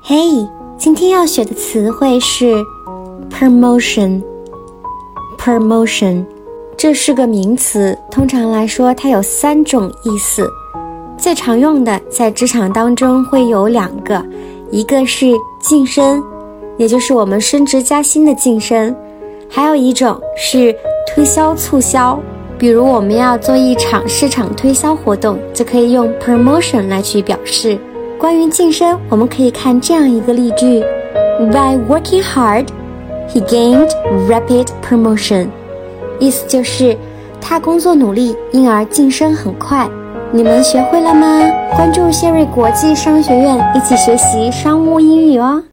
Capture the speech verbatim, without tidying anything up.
嘿，今天要学的词汇是 promotion promotion 这是个名词，通常来说它有三种意思，最常用的在职场当中会有两个，一个是晋升，也就是我们升职加薪的晋升，还有一种是推销促销，比如我们要做一场市场推销活动，就可以用 promotion 来去表示。关于晋升，我们可以看这样一个例句 By working hard, he gained rapid promotion 意思就是他工作努力，因而晋升很快。你们学会了吗？关注谢瑞国际商学院，一起学习商务英语哦。